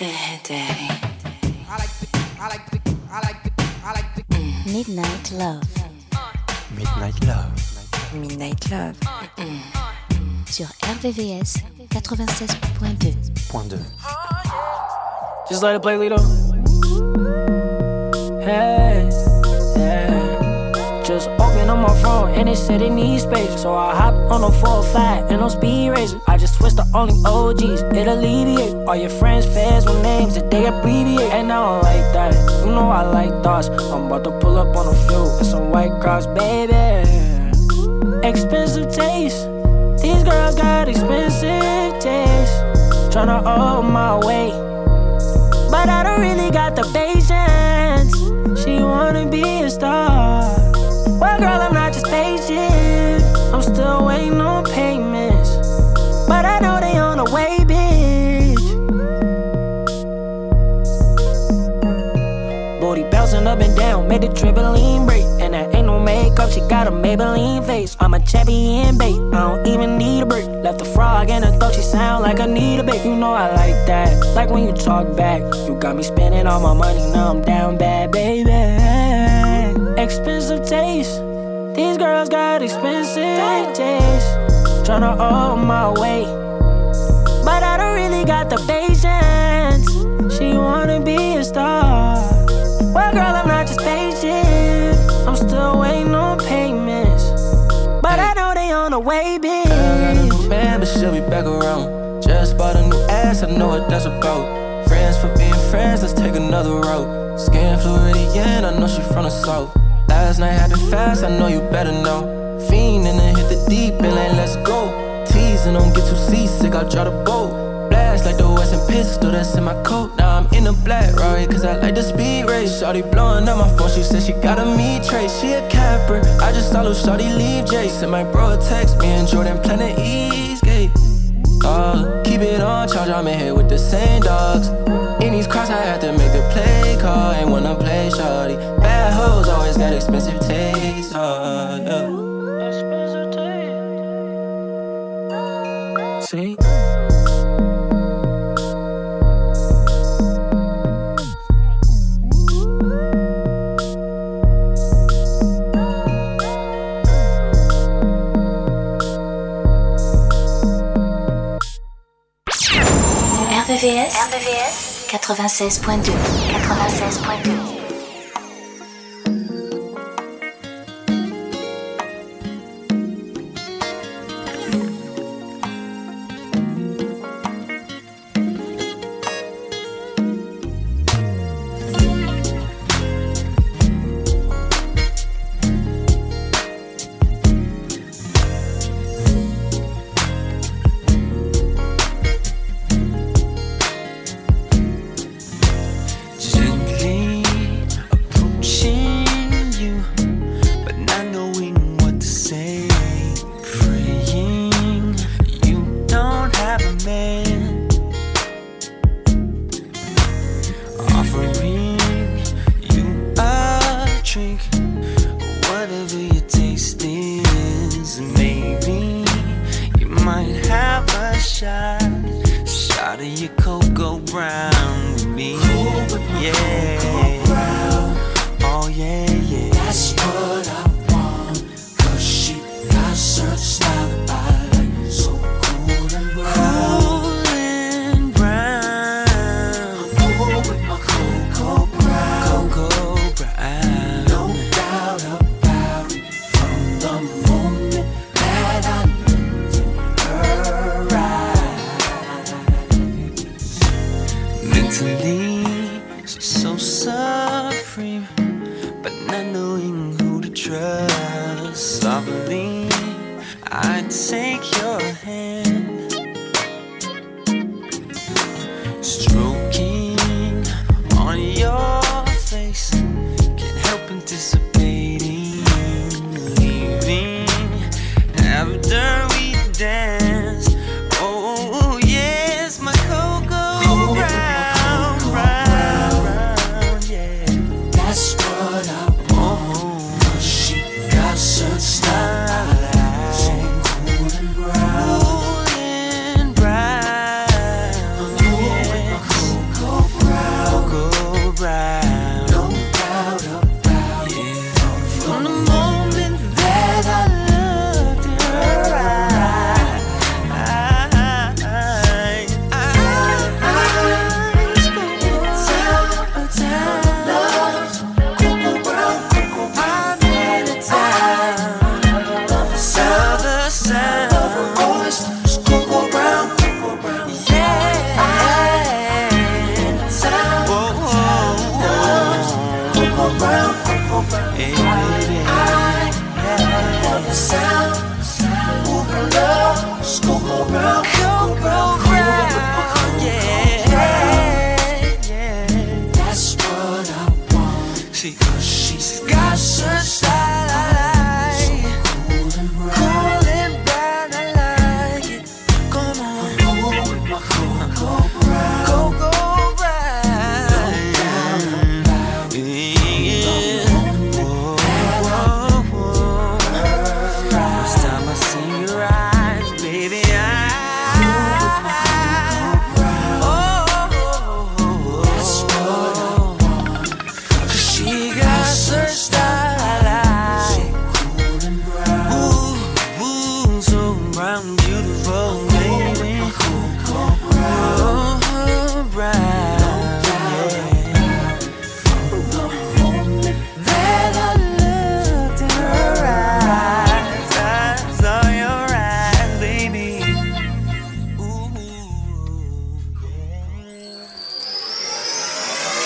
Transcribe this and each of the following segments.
Midnight Love. Midnight Love. Midnight Love. Sur RVVS 96.2. Just let it play, Lito. Hey, yeah. Just open up my phone and it said it needs space. So I hop on a 405 and on speed racer. I just switched to only OGs, it alleviate. All your friends, fans with names that they abbreviate. And I don't like that, you know I like thoughts. I'm about to pull up on a few and some white cross, baby. Expensive taste, these girls got expensive taste. Tryna hold my weight, but I don't really got the patience. She wanna be a star. Well, girl, I'm not just patient. I'm still waiting on payments, but I know they on the way, bitch. Booty bouncing up and down, made the trampoline break. And that ain't no makeup, she got a Maybelline face. I'm a champion, babe, I don't even need a break. Left a frog in her throat, she sound like Anita Baker. You know I like that, like when you talk back. You got me spending all my money, now I'm down bad, baby. Expensive taste, these girls got expensive taste. Tryna hold my weight, but I don't really got the patience. She wanna be a star. Well, girl, I'm not just patient. I'm still waiting on payments, but I know they on the way, bitch. I got a new man, but she'll be back around. Just bought a new ass, I know what that's about. Friends for being friends, let's take another route. Skin Floridian, I know she from the south. Last night happened fast, I know you better know. Fiend and then hit the deep and then let's go. Teasing, don't get too seasick, I'll draw the boat. Blast like the Western pistol that's in my coat. Now I'm in a black Rari, cause I like the speed race. Shawty blowing up my phone, she said she got a me trace. She a camper, I just saw little Shawty leave Jason. My bro a text me and Jordan Planet Eastgate. Keep it on charge, I'm in here with the same dogs. In these cross, I had to make the play call. Ain't wanna play shawty. Bad hoes always got expensive taste. Yeah. Expensive taste. See? RVVS 96.2. 96.2.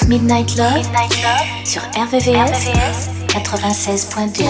Midnight Love sur RVVS 96.2.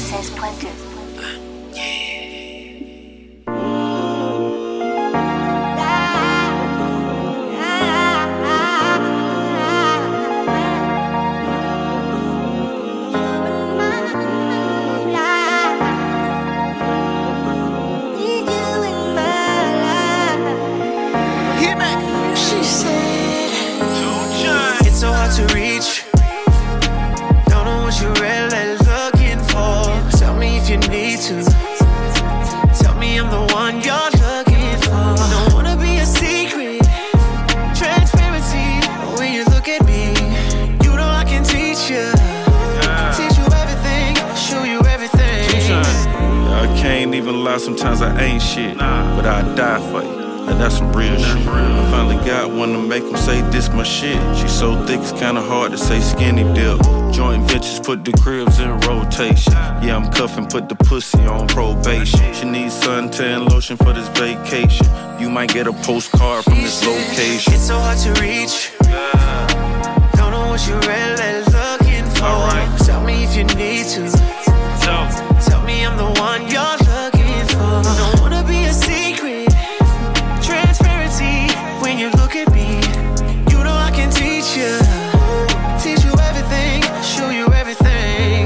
Sometimes I ain't shit, but I die for you. Like that's some real shit. I finally got one to make them say this my shit. She so thick it's kinda hard to say skinny dip. Joint ventures put the cribs in rotation. Yeah, I'm cuffing, put the pussy on probation. She needs suntan lotion for this vacation. You might get a postcard from this location. It's so hard to reach. Don't know what you're really looking for. Alright. Tell me if you need to. Tell me I'm the one you're looking for. Don't wanna be a secret. Transparency when you look at me. You know I can teach you. Teach you everything. Show you everything.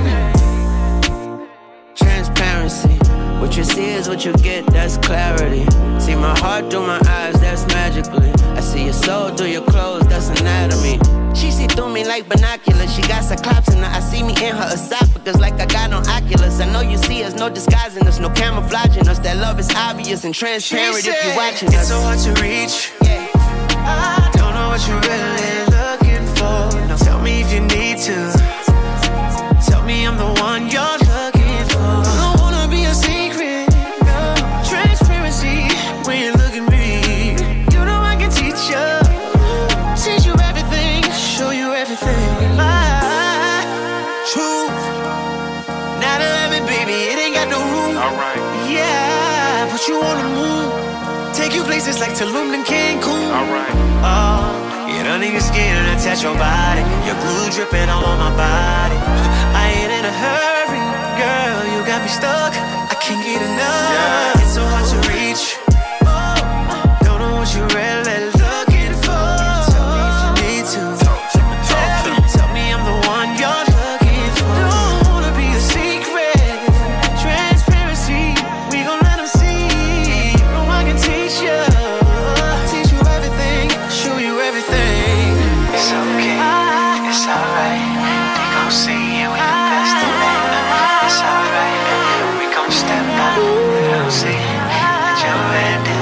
Transparency. What you see is what you get, that's clarity. See my heart through my eyes, that's magically. I see your soul through your clothes, that's anatomy. She see through me like binoculars. She got cyclops in her. I see me in her esophagus like I got on Oculus. I know you see us, no disguising us, no camouflaging us. That love is obvious and transparent if you're watching us. It's so hard to reach. Yeah. I don't know what you're really looking for. Now tell me if you need to. Tell me I'm the one you're looking for. I don't wanna be a secret. No. Transparency when you look at me. You know I can teach you. Teach you everything. Show you everything. My truth. 9/11, baby, it ain't got no room. Alright. Yeah, put you on the moon. Take you places like Tulum and Cancun. Alright. Oh, get under your skin and attach your body. Your glue dripping all on my body. I ain't in a hurry, girl. You got me stuck. I can't get enough. Yeah. It's so hard to reach. Don't know what you're really looking for. Tell me if you need to. Tell me I'm the one you're looking for. Don't wanna be a secret. Transparency, we gon' let them see. No one can teach you. Teach you everything, show you everything. It's okay, it's alright. They gon' see you in the best of me. It's alright, we gon' step out. They gon' see, put your head down.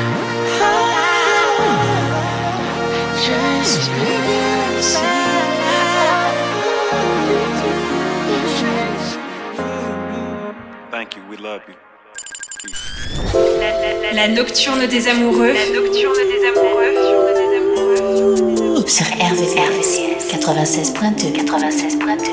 Thank you, we love you. La nocturne des amoureux. La nocturne des amoureux. Sur RVVS 96.2. 96.2.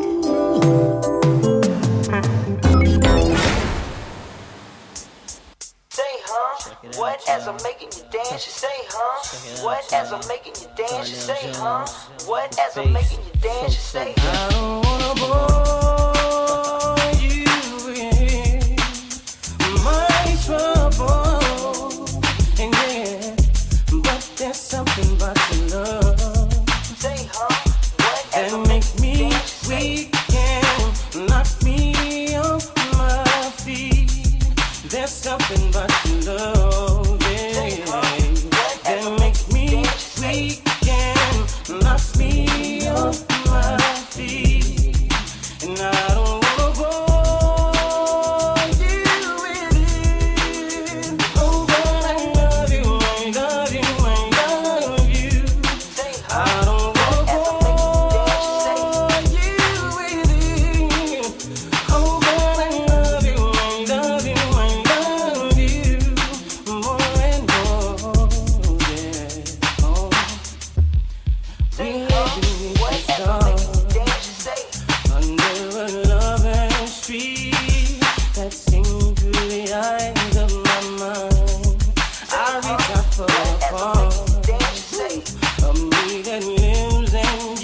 What as I'm making you dance, you say, huh? What as I'm making you dance, you say, huh? What as I'm making you dance, you say, I don't wanna bore you with my trouble, and yeah, but there's something about your love say, huh? What as that I'm makes making you me dance, you say, weak and knocks me off my feet. There's something about your love, yeah, that makes me weak and knocks me off my feet. And I don't wanna bore you with it. Oh, but I love you, I love you, I love you. I don't wanna bore you with it. Oh, but I love you, I love you, I love you more and more, yeah. Oh, what as I'm making you dance, you say, under a loving street that sings through the eyes of my mind, I reach out for a what as I'm part making you dance, you say, of me that lives and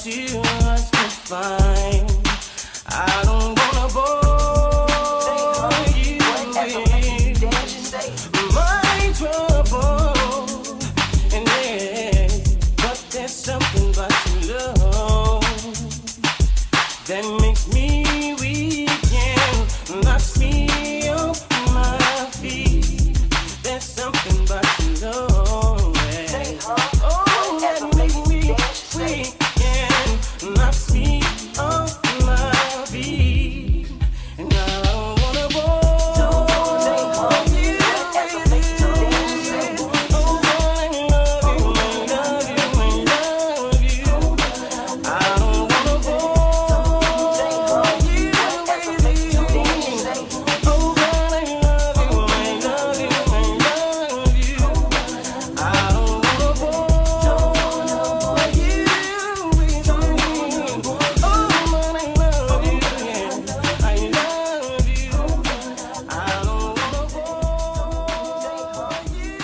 still lots to find. I don't wanna bore you with my trouble, and yeah, but there's something about your love that makes me weak and knocks me off my feet. There's something about your love, yeah. Oh, that makes me weak and knocks me off my feet. And I don't wanna bore you. Oh, I love you, I love you, I love you. I don't wanna bore you. Oh, I love you, I love you, I love you. I don't wanna bore you with me. Oh, I love you, yeah, I love you. I don't wanna bore you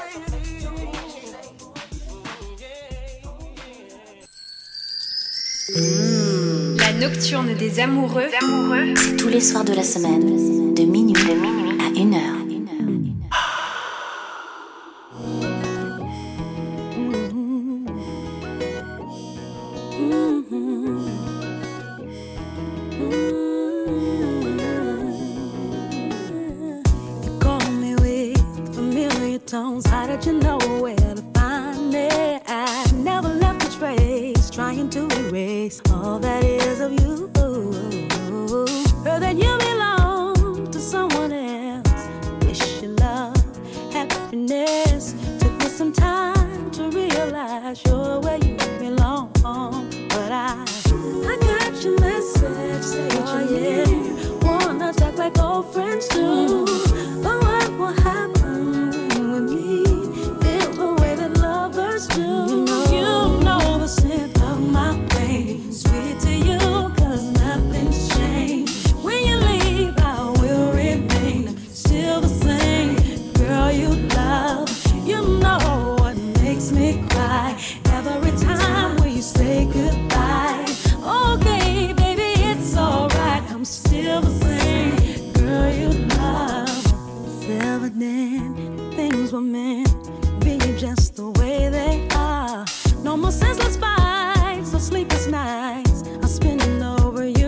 La nocturne des amoureux. C'est tous les soirs de la semaine, de minuit à 1h. You call me with familiar tones. How did you know where to find me? I never left a trace, trying to erase all that is of you. Heard that you belong to someone else. Wish you love, happiness. Took me some time to realize you're where you belong. But I got your message, say oh yeah. Wanna talk like old friends do. But what will happen with me? Feel the way that lovers do. You know the scent of my pain, sweet to you, 'cause nothing's changed. When you leave, I will remain still the same. Girl, you love, you know what makes me cry every time when you say goodbye. Okay, baby, it's alright, I'm still the same. Girl, you love, it's evident things were meant, be just the way they are. No more senseless fights, no sleepless nights, I'm spinning over you.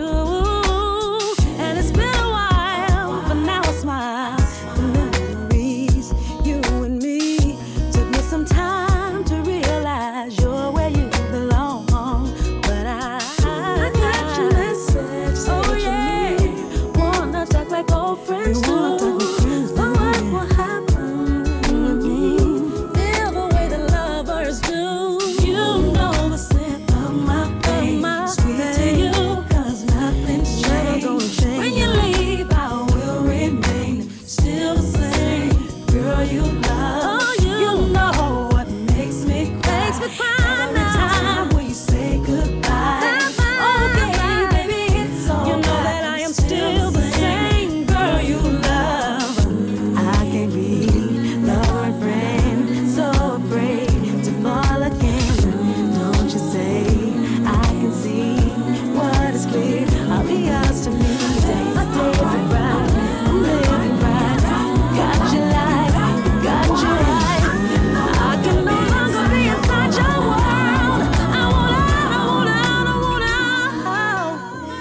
And it's been a while, but now I smile. The memories, you and me, took me some time to realize you're where you belong. But I got your message, oh yeah. Wanna talk like old friends do. But what will happen with me? Feel the way the lovers do. You know the scent of my pain, sweet to you, 'cause nothing's changed. When you leave, I will remain still the same. Girl, you love, you know what makes me cry every time when you say goodbye. Okay, baby, it's all you know that I am still the same. Girl, you love, I can't be lover and friend, so afraid to fall again. Don't you say I can see what is clear? I'll be yours to me. My days are bright, I'm living right. Got your life, got your life. I can no longer be inside your world. I want out, I want out, I want out.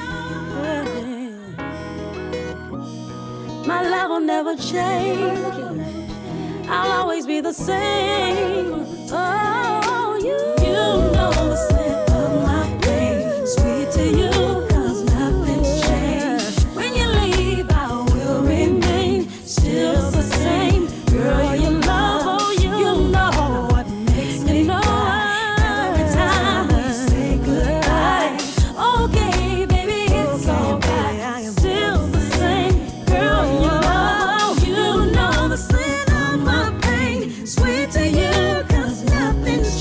My love will never change. I'll always be the same. Oh, you know the scent of my pain, sweet to you, 'cause nothing's changed. When you leave, I will remain still the same. Girl, you love, oh, you know what makes me cry every time we say goodbye. Okay, baby, it's alright, I am still the same. Girl, you love, you know the scent of my pain, sweet to you, 'cause nothing's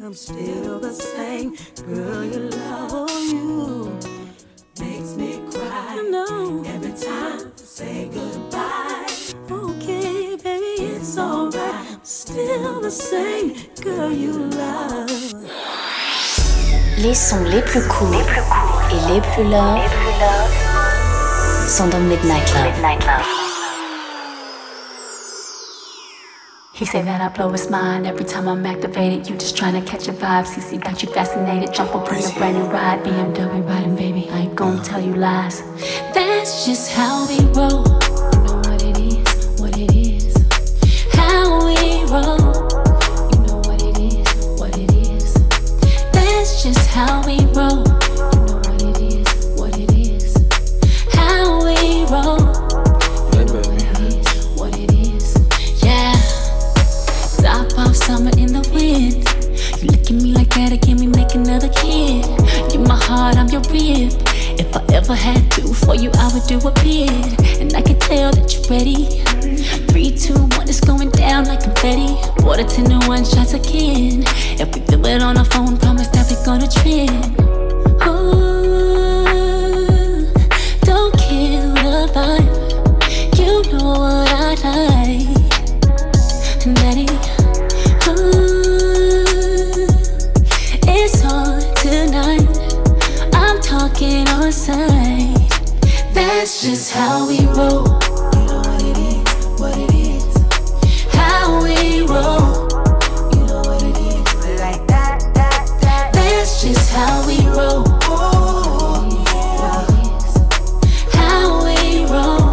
I'm still the same girl you love. You makes me cry. No. Every time I say goodbye. Okay, baby, it's alright. I'm still the same girl you love. Les sons les plus cool et les plus love sont dans Midnight Love. He say that I blow his mind every time I'm activated. You just tryna catch a vibe. CC got you fascinated. Jump up on your brand new ride. BMW riding, baby. I ain't gonna tell you lies. That's just how we roll. You know what it is, what it is. How we roll. You know what it is, what it is. That's just how we roll. You know what it is, what it is. How we roll. You know what it is, what it is. Yeah. Top off summer in the wind. You look at me like that again, we make another kid. You're my heart, I'm your rib. If I ever had to, for you I would do a bid. And I can tell that you're ready. 3, 2, 1, it's going down like confetti. Water 10 to 1 shots again. If we feel it on our phone, promise that we're gonna trend. Ooh, don't kill the vibe. You know what I like. Daddy, ooh, it's on tonight. I'm talking on sight. That's just how we roll. You know what it is, what it is. How we roll. You know what it is, like that. That's just how we roll. How we roll.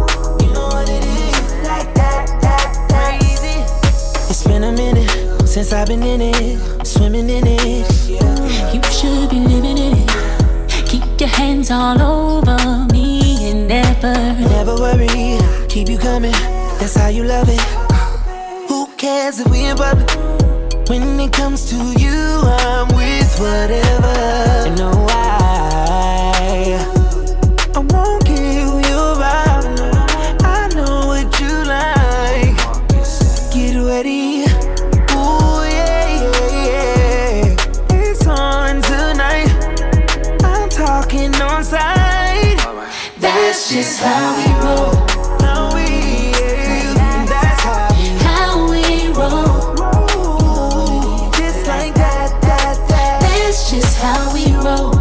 Since I've been in it, swimming in it. You should be living in it. Keep your hands all over me and never worry, keep you coming. That's how you love it. Who cares if we in public? When it comes to you, I'm with whatever. You know why? I won't kill your vibe. I know what you like. Get ready. That's just how we roll. That's how we roll. Just like that. That's just how we roll.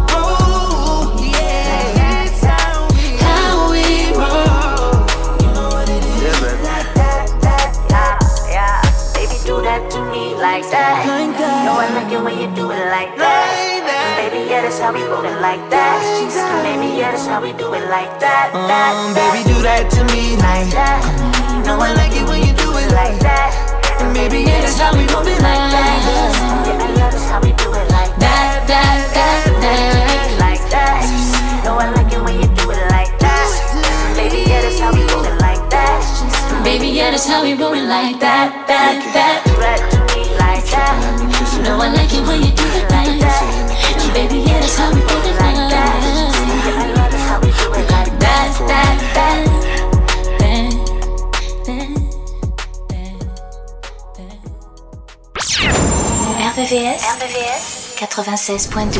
That's how we roll. You know what it is. Like that. Yeah. Baby, do that to me like that. No, I like it when you do it like that. Baby, yeah, that's how we roll it like that. Baby, yeah, that's how we do it like that. Baby, do that to me like that. No, I like it when you do it like that. And baby, yeah, that's how we roll it like that. Baby, yeah, that's how we do it like that. Like that. No, I like it when you do it like that. Baby, yeah, that's how we roll it like that. Baby, yeah, that's how we roll it like that. Do that to me like that. No, I like it when you do it like that. Baby, yeah, that's how we roll it like that. That's how we do it like that. RVVS 96.2.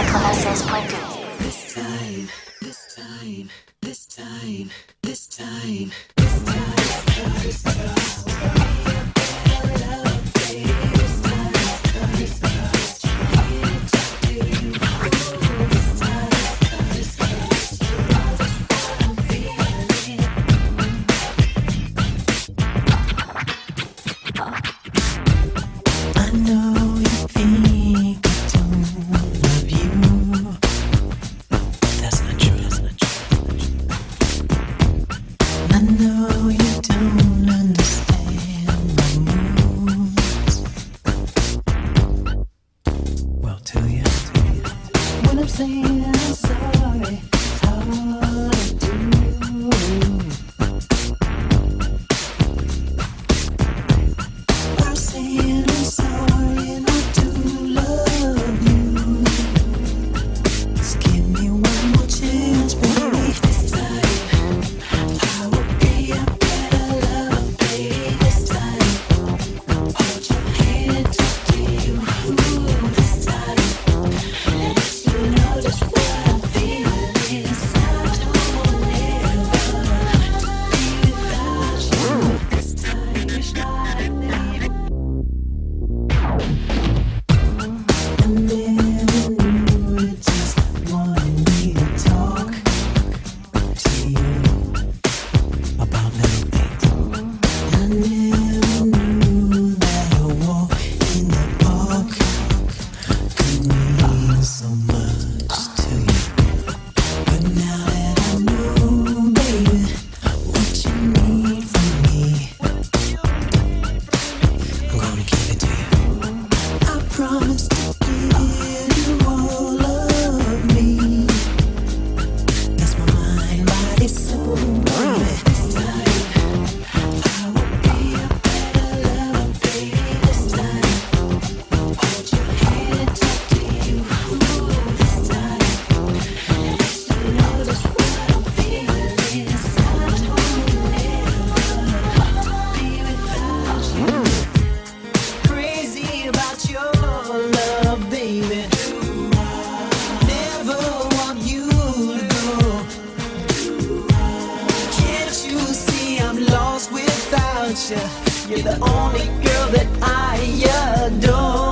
This time. Ooh. be the only girl that I adore.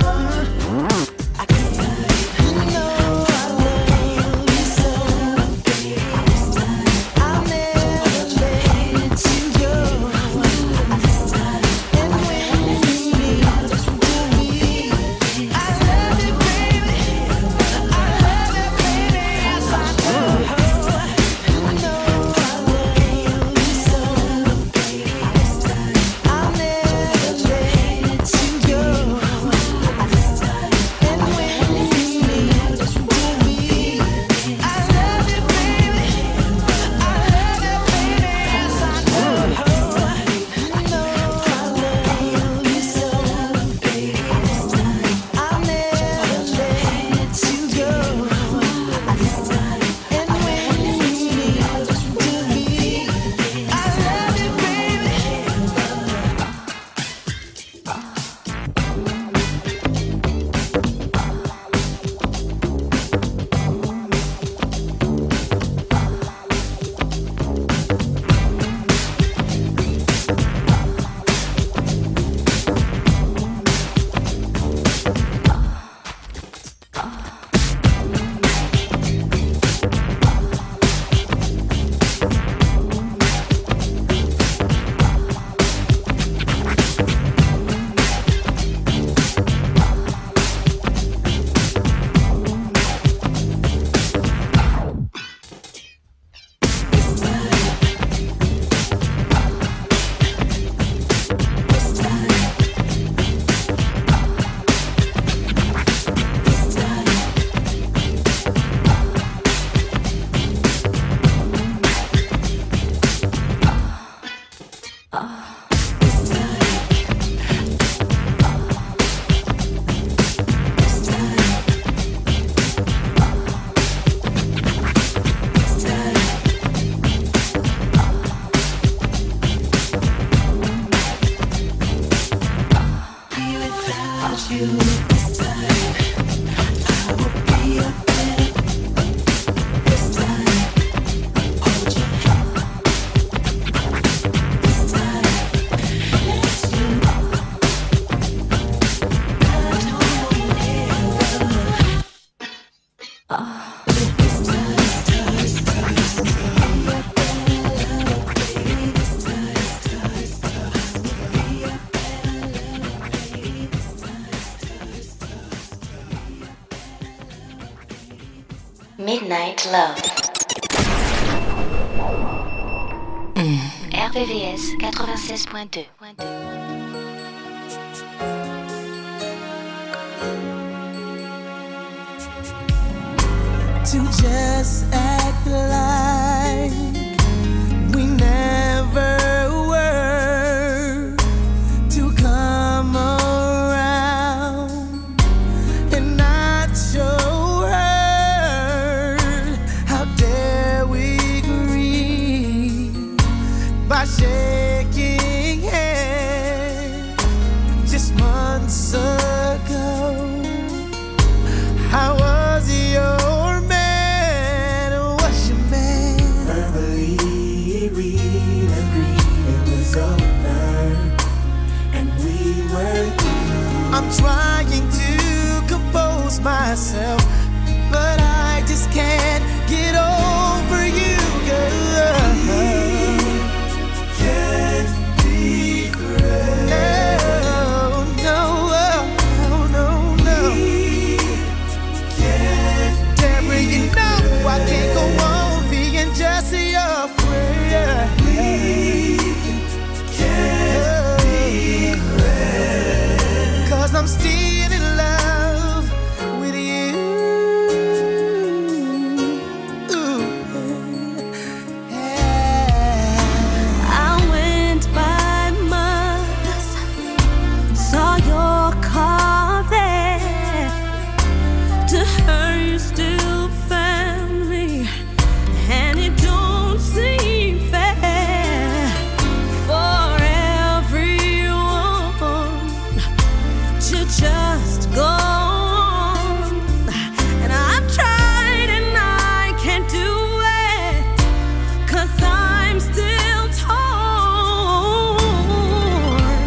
Midnight Love. RVVS 96.2. To just act like we never were, to come around and not show her. How dare we grieve by shaking hands just months ago? How was your man? Was your man? Verbally we'd agreed it was over, and we were through. I'm trying to compose myself, but I just can't get over you, girl. Can't be friends. No, no, no. Deborah, you know I can't go on being just your friend. Can't be friends. 'Cause I'm still in love with you. I went by Mother's, saw your car there. To her you still family, and it don't seem fair for everyone to just go on. And I've tried and I can't do it, 'cause I'm still torn.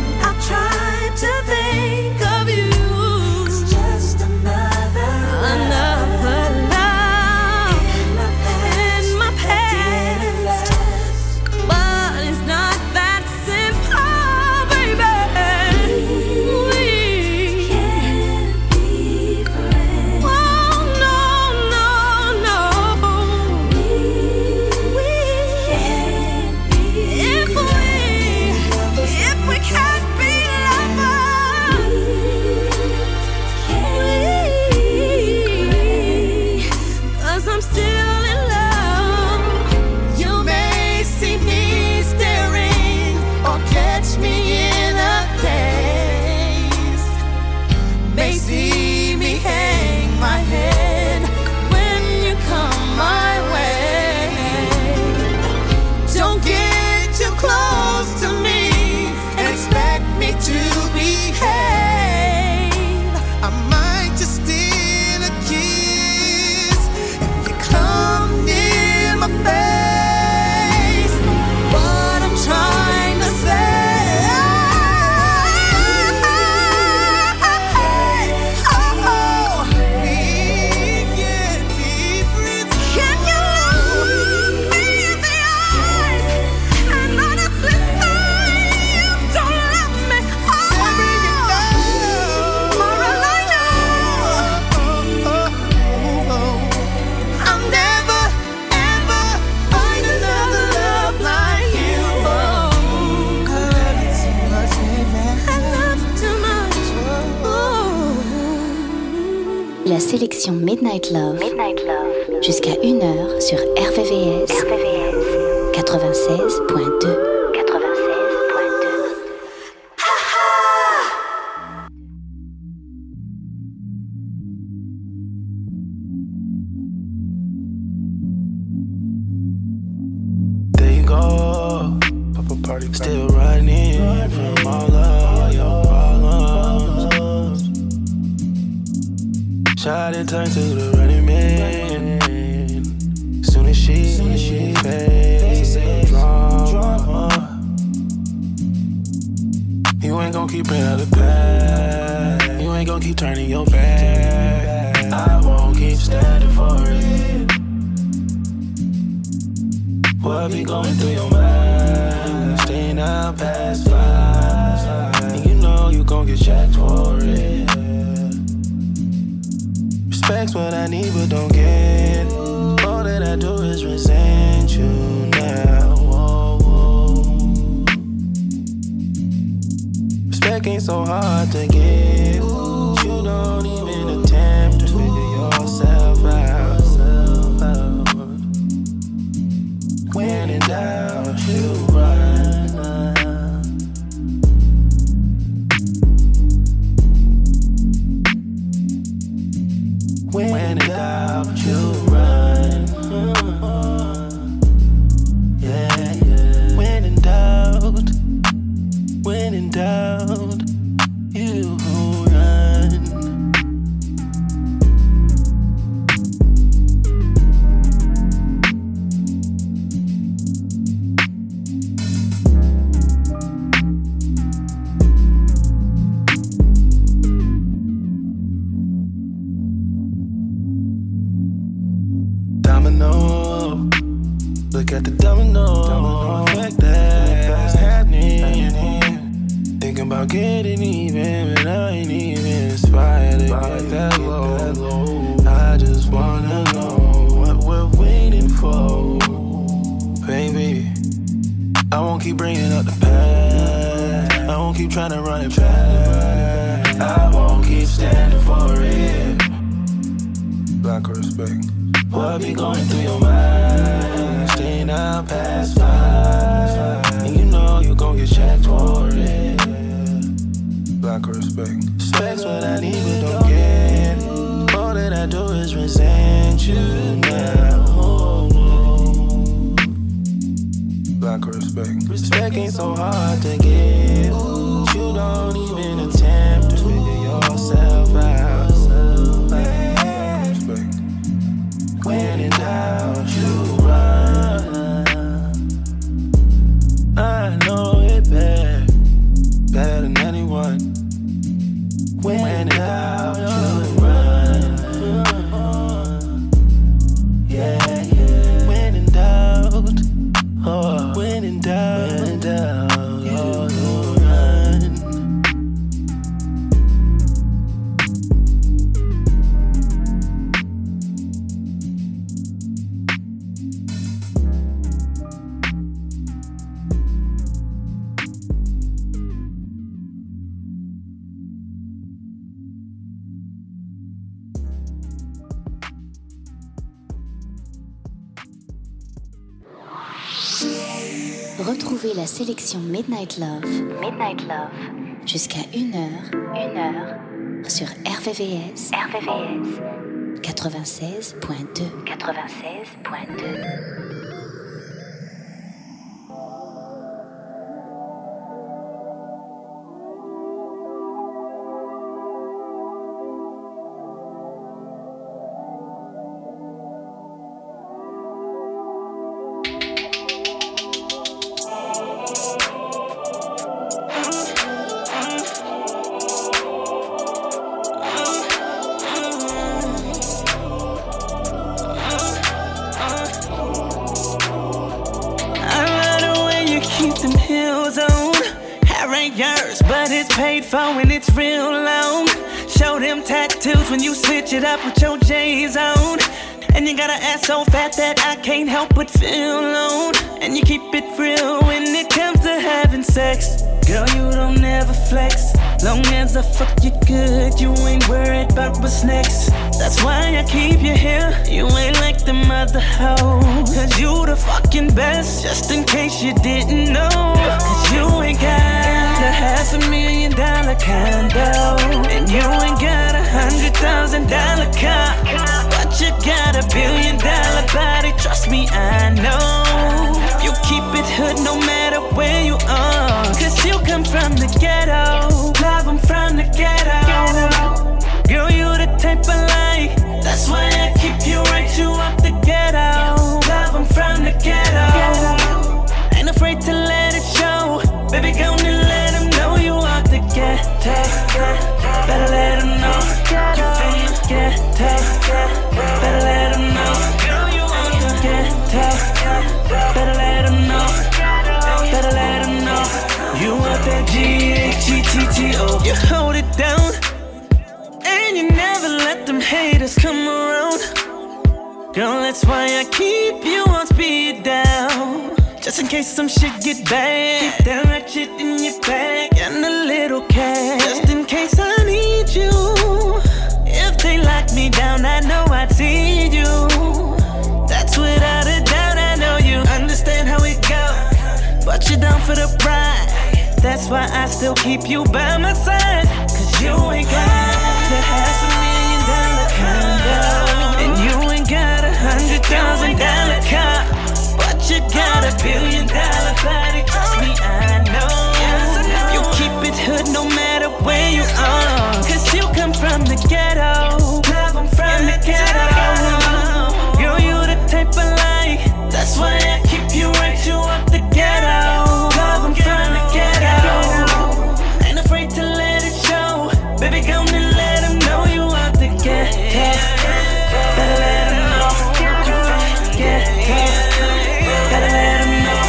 La sélection Midnight Love, jusqu'à 1h sur RVVS 96.2. Still running from all of your problems. Shawty turned to the running man. Soon as she faced drama, you ain't gon' keep bringing up the past. You ain't gon' keep turning your back. I won't keep standing for it. What be going through your mind? Staying out past 5, and you know you gon' get checked for it. Respect's what I need but don't get. All that I do is resent you now. Respect ain't so hard to get. You don't even attempt to figure yourself out. When in doubt, you run. When in doubt, you run. Yeah, yeah. When in doubt, you run. Look at the domino effect that's happening. Thinking about getting even, but I ain't even inspired to get that low. I just wanna know what we're waiting for, baby. I won't keep bringing up the past. I won't keep trying to run it back. I won't keep standing for it. Lack of respect. What be going through your mind? Staying out past 5, and you know you gon' get checked for it. Lack of respect. Respect's what I need but don't get. All that I do is resent you now. Lack of respect. Respect ain't so hard to get. You don't even attempt to figure yourself out. When in doubt, you run. I know it better than anyone. When in doubt, you run. Yeah, yeah. When in doubt, oh, when in doubt, you run. Retrouvez la sélection Midnight Love, jusqu'à 1h sur RVVS 96.2. But it's paid for when it's real long. Show them tattoos when you switch it up with your J's on. And you got an ass so fat that I can't help but feel alone. And you keep it real when it comes to having sex. Girl, you don't never flex. Long as I fuck you good, you ain't worried about what's next. That's why I keep you here. You ain't like them other hoes. Cause you the fucking best, just in case you didn't know. Cause you ain't got a $500,000 condo, and you ain't got $100,000 car, but you got $1 billion body. Trust me, I know. You keep it hood no matter where you are. Cause you come from the ghetto. Love, I'm from the ghetto. Girl, you the type I like. That's why I keep you right, you up the ghetto. Love, I'm from the ghetto. Ain't afraid to let it show. Baby, gonna let them know you out the ghetto. Better let them know you from the ghetto. Better let them know you out the ghetto. Better let them know. Better let them know you out that G-H-E-T-T-O. You hold it down, and you never let them haters come around. Girl, that's why I keep you on speed down. Just in case some shit get bad, keep that ratchet in your bag and a little cash. Just in case I need you. If they lock me down, I know I'd see you. That's without a doubt, I know you understand how it goes. But you're down for the ride. That's why I still keep you by my side. Cause you ain't got the $500,000 condo, and you ain't got $100,000 car, but you got $1 billion body. Trust me, I know. You keep it hood no matter where you are. Cause you come from the ghetto. Love, I'm from the ghetto. Girl, you the type I like. That's why I keep you right, you up the ghetto. Love, I'm from the ghetto. Ain't afraid to let it show. Baby, gonna let them know you out the ghetto. Better let them know you from the ghetto. Better let them know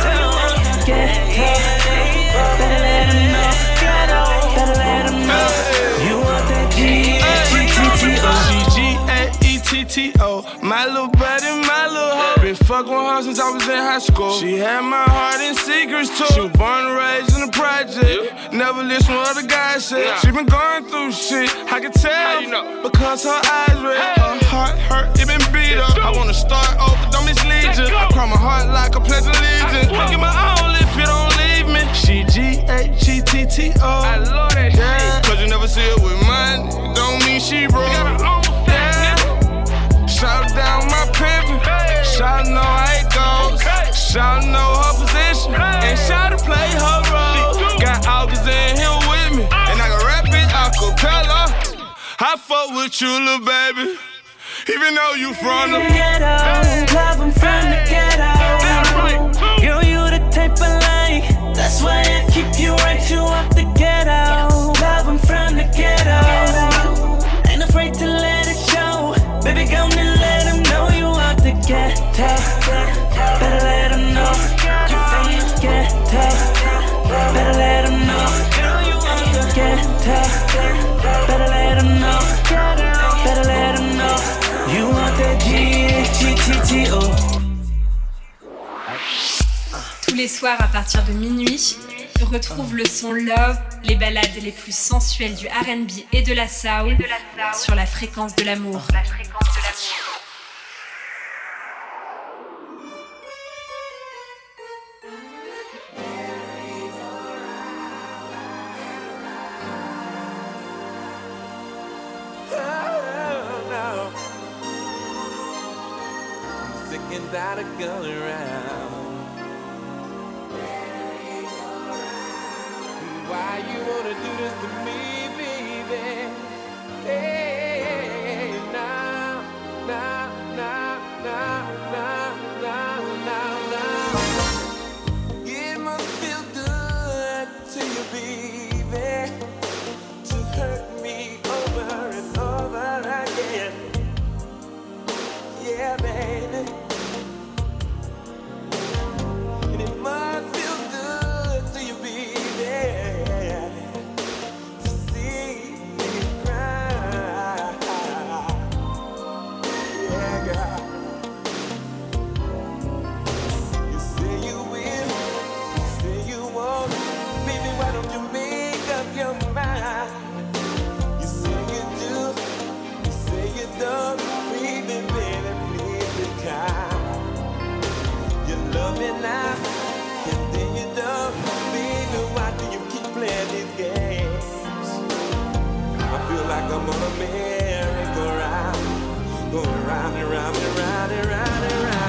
ghetto. Better let them know. Better let them know you out that G-H-E-T-T-O. G-G-A-E-T-T-O. My little buddy, my little hoe. Been fucking with her since I was in high school. She had my heart in secrets too. She was born and raised in the project. Never listen what other guys said. She been going through shit, I can tell. How you know? Because her eyes red. Her heart hurt, it been beat up. I wanna start over, don't mislead you. I cry my heart like a pledge of allegiance. I get my own if you don't leave me. She G-H-E-T-T-O. I love that shit. Cause you never see her with money, don't mean she broke. Shout down my pimpin', shout know how it goes, shout know her position, and shout to play her role. Got August in here with me, and I can rap it a cappella. I fuck with you, little baby, even though you from the ghetto. Love, I'm from the ghetto. Girl, you the type I like. That's why I keep you right, you up the ghetto. Love, I'm from the ghetto. Ain't afraid to let it show. Baby, gonna let them know you out the ghetto. Better let them know you from the ghetto. Better let them know you out the ghetto. Better let them know. Better let them know you out that G-H-E-T-T-O. Tous les soirs à partir de minuit, retrouve le son Love, les ballades les plus sensuelles du R&B et de la soul sur la fréquence de l'amour. Sick and tired of going around. Why you wanna do this to me, baby? Hey, now, now, now, now, now, now, now, now. It must feel good to you, baby, to hurt me over and over again. Yeah, baby. And it must feel good to you, baby. I'm on a merry-go-round, going round and round and round and round and round.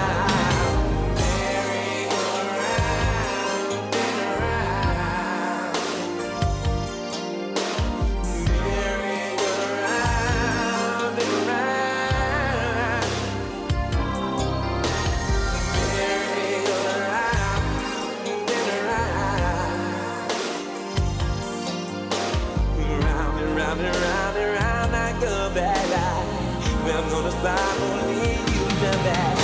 I'm gonna stop only you know that.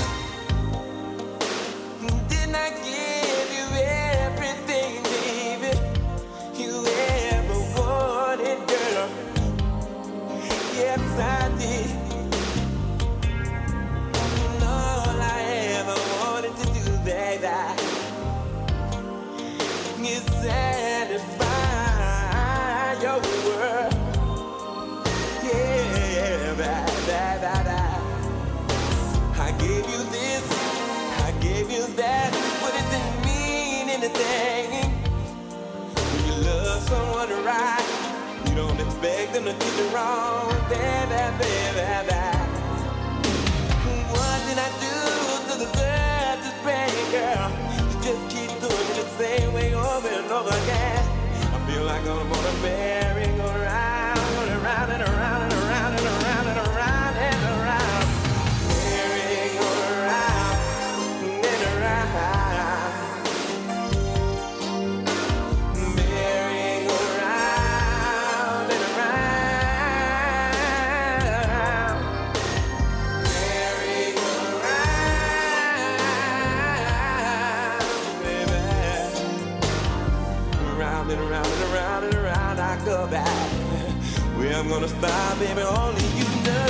Didn't I give you everything, baby, you ever wanted, girl? Yes, I did. And all I ever wanted to do, baby, is satisfy your world. I gave you this, I gave you that, but it didn't mean anything. When you love someone right, you don't expect them to do it wrong, baby. What did I do to deserve this pain, girl? You just keep doing it the same way over and over again. I feel like I'm on a merry-go-round, going around and around and around and around and around and around. Merry-go-round and around. Merry-go-round and around. Merry-go-round, baby. Around and around and around and around I go back. Where I'm gonna stop, baby, only you know.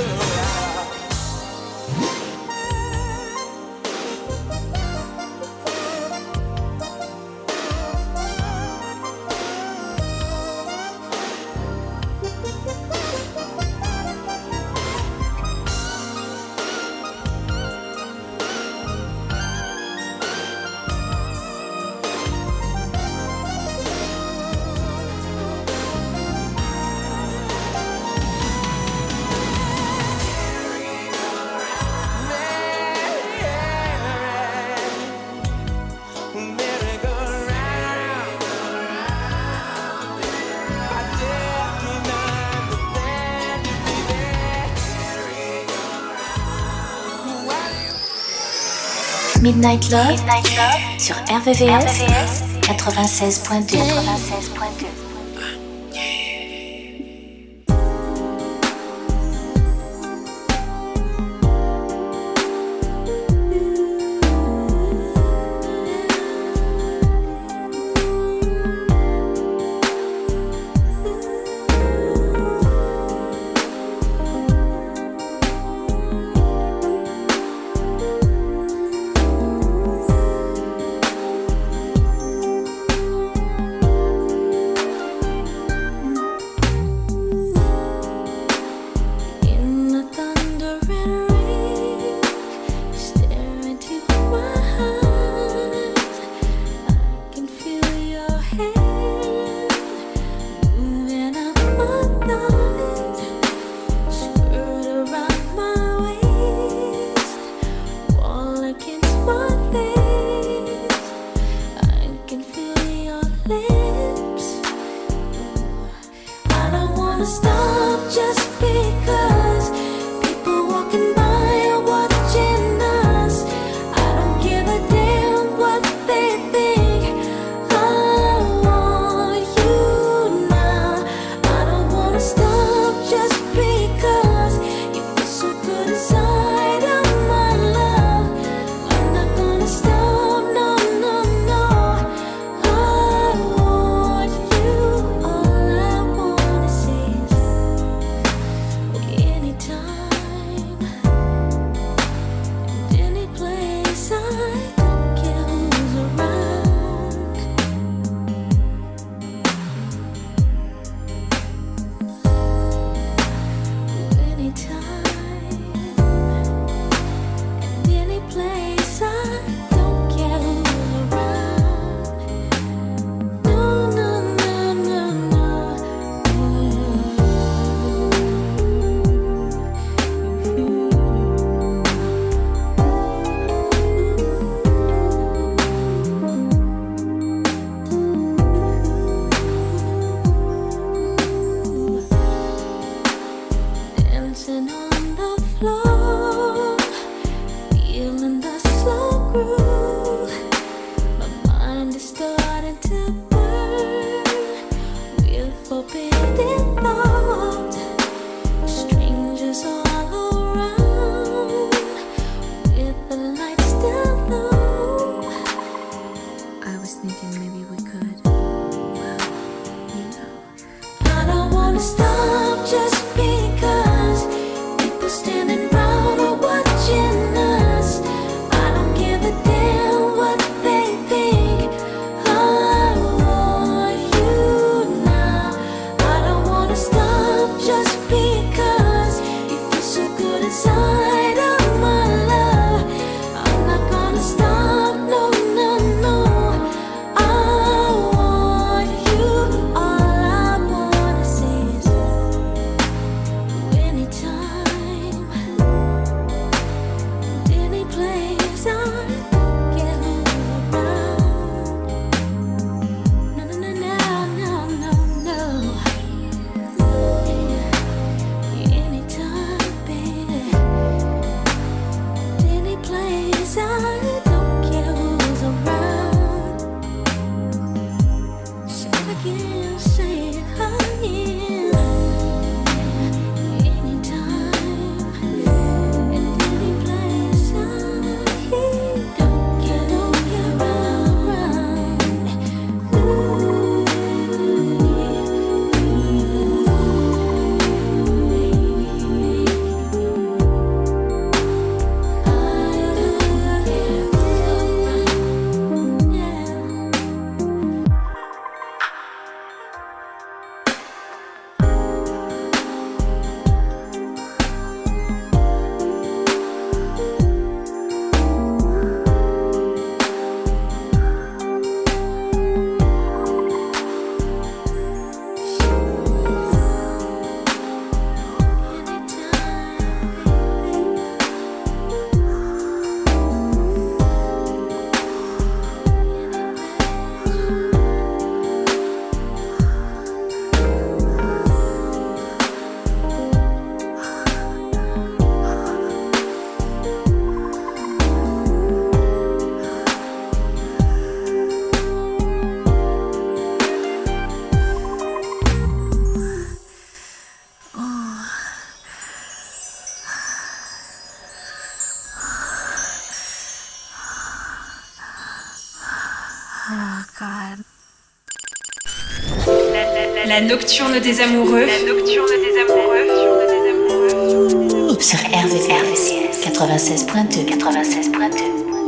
Midnight Love sur RVVS 96.2. dancing on the floor, feeling the slow groove. My mind is starting to burn with forbidden thoughts. Strangers all around with the lights still low. I was thinking maybe we could, well, you know. I don't wanna stop just because people standing round are watching us. I don't give a damn what they think. I want you now. I don't wanna stop just because you feel so good inside of my love. I'm not gonna stop, no, no, no. I want you. All I wanna say is anytime, any place, I don't care who's around. No, no, no, no, no, no, no. Anytime, baby, any place, I don't care who's around. Say it again, say it again. Anytime, and any place, I don't care around. Oh God. La nocturne des amoureux. La nocturne des amoureux. Sur RVCS 96.2. 96.2.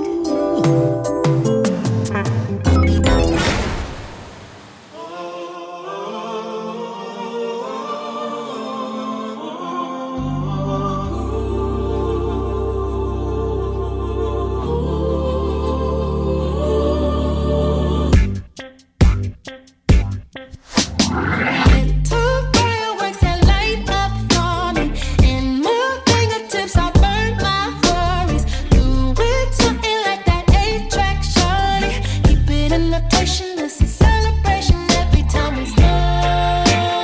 Fireworks that light up for me. In my fingertips, I burn my worries. Do it something like that 8-track shorty. Keep it in rotation, this is celebration every time we slow.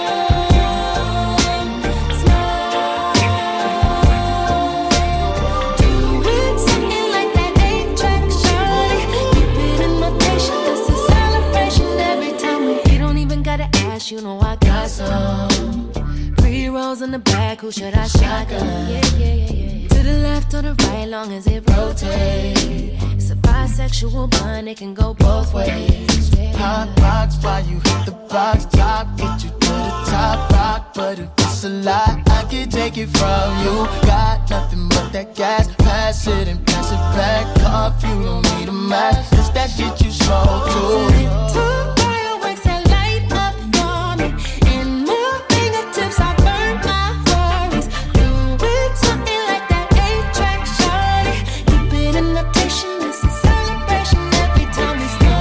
Do it something like that 8-track shorty. Keep it in rotation, this is celebration every time we. You don't even gotta ask, you know I got some. Pre-rolls in the back, who should I shotgun? Yeah. To the left or the right, long as it rotates. It's a bisexual bond, it can go both ways. Hot box, why you hit the box top? Get you to the top rock, but if it's a lie, I can take it from you. Got nothing but that gas, pass it and pass it back off. You don't need a mask, it's that shit you smoke too. Fireworks that light up for me. In my fingertips, I burn my worries. Do it something like that 8-track shorty. Keep it in rotation, this is celebration every time we slow.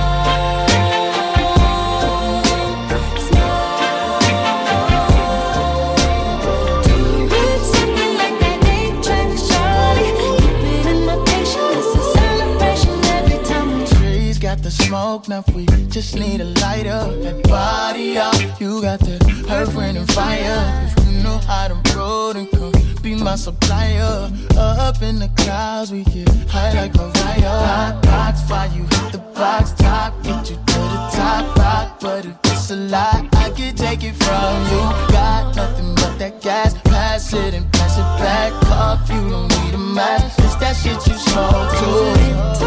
Do it something like that 8-track shorty. Keep it in rotation, this is celebration every time we. Trees got the smoke, now we just need a lighter. That body up, you got that earth, wind, and fire. If you know how to roll, then come my supplier. Up in the clouds, we get high like Mariah. Hot box, while you hit the box top, get you to the top rock. But if it's a lie, I can take it from you. Got nothing but that gas, pass it and pass it back. Off, you don't need a mask, it's that shit you smoke too.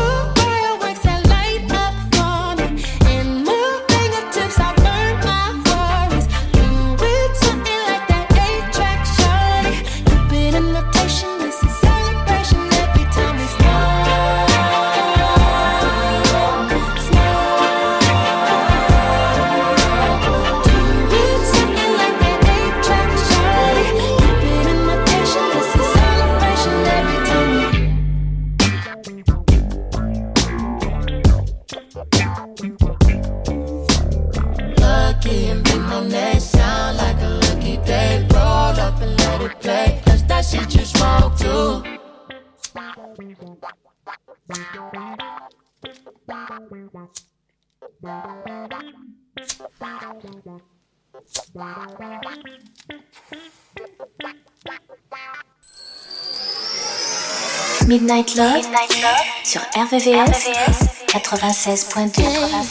Midnight Love sur RVVS 96.2.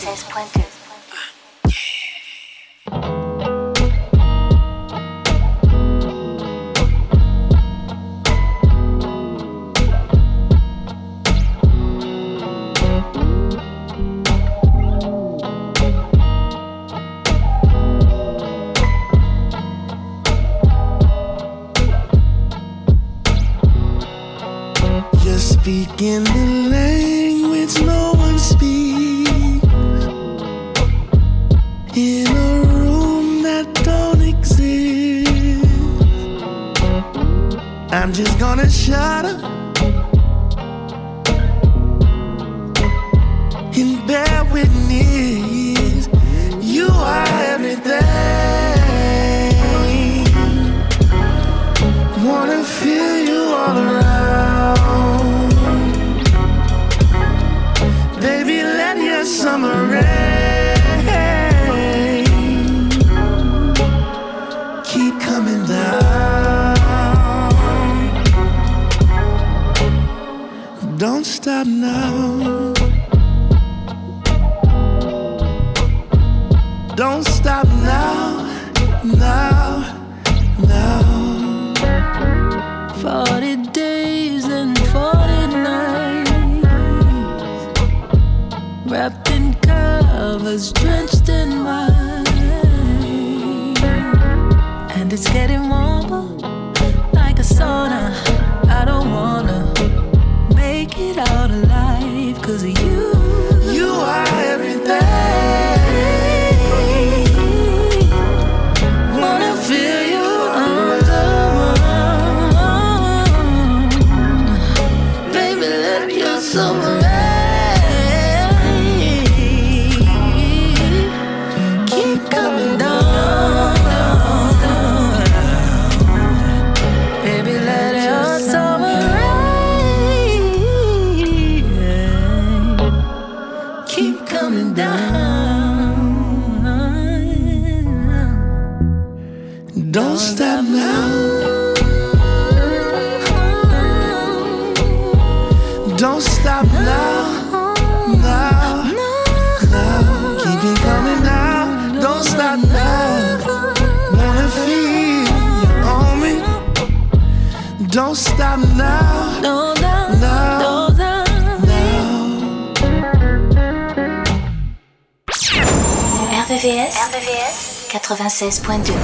Speaking the language no one speaks, in a room that don't exist. I'm just gonna shut up and bear witness. You are everything. Wanna feel you all around. Baby, let your summer rain keep coming down. Don't stop now. Don't stop now, now, now. 40 days and 40 nights, wrapped in covers, drenched in wine, and it's getting warmer like a sauna. I don't wanna make it out alive 'cause of you. You are everything. Wanna feel you on the run. Baby, let your summer keep coming down, down, down. Baby, let your summer keep coming down. Don't stop now. Don't stop now, now, now. Keep it coming down. Don't stop now. Wanna feel you on me. Don't stop now, no, now, now. RVVS 96.2.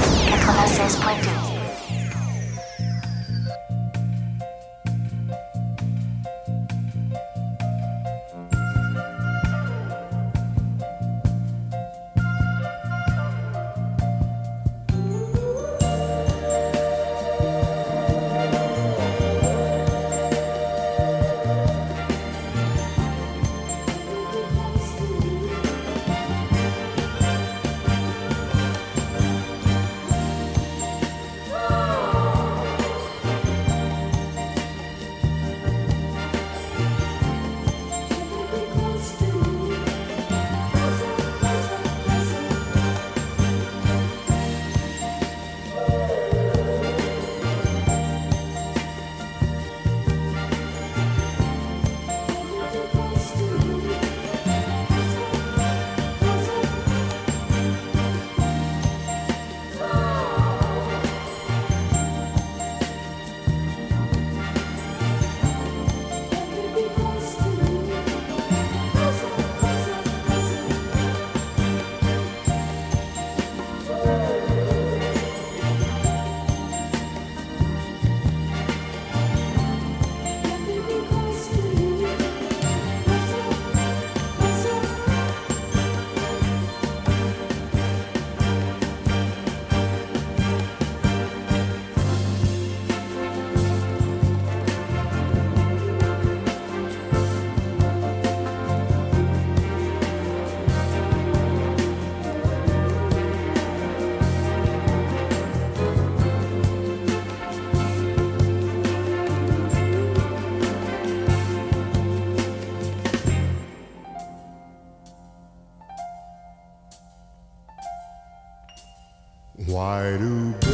Why do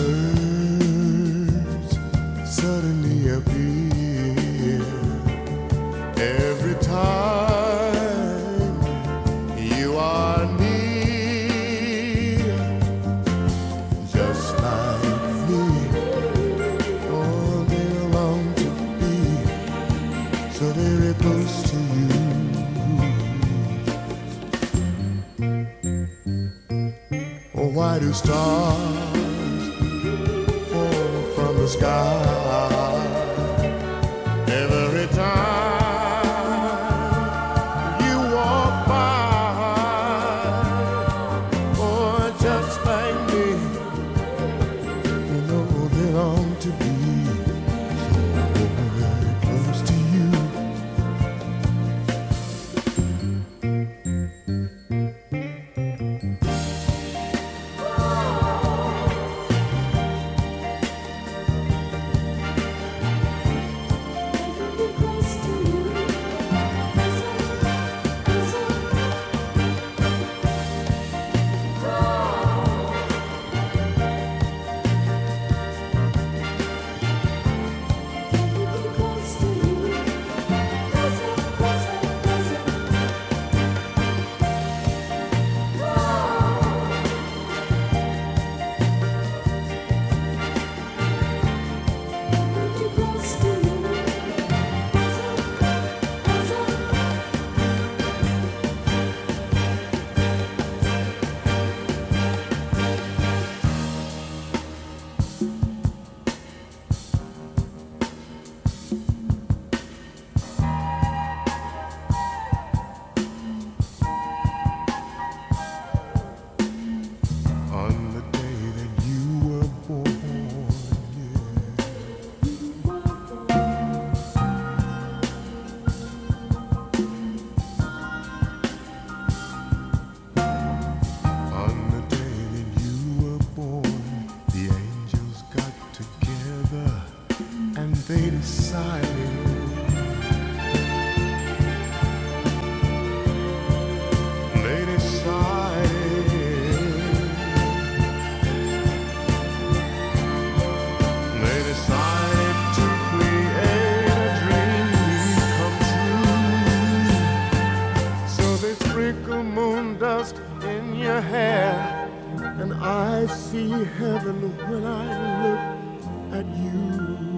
birds suddenly appear every time you are near? Just like me, oh, they long to be so very close to you. Oh, why do stars fall from the sky every time you walk by? Oh, just like me, you know they long to be so very close to you. They decided to create a dream come true. So they sprinkle moon dust in your hair, and I see heaven when I look at you.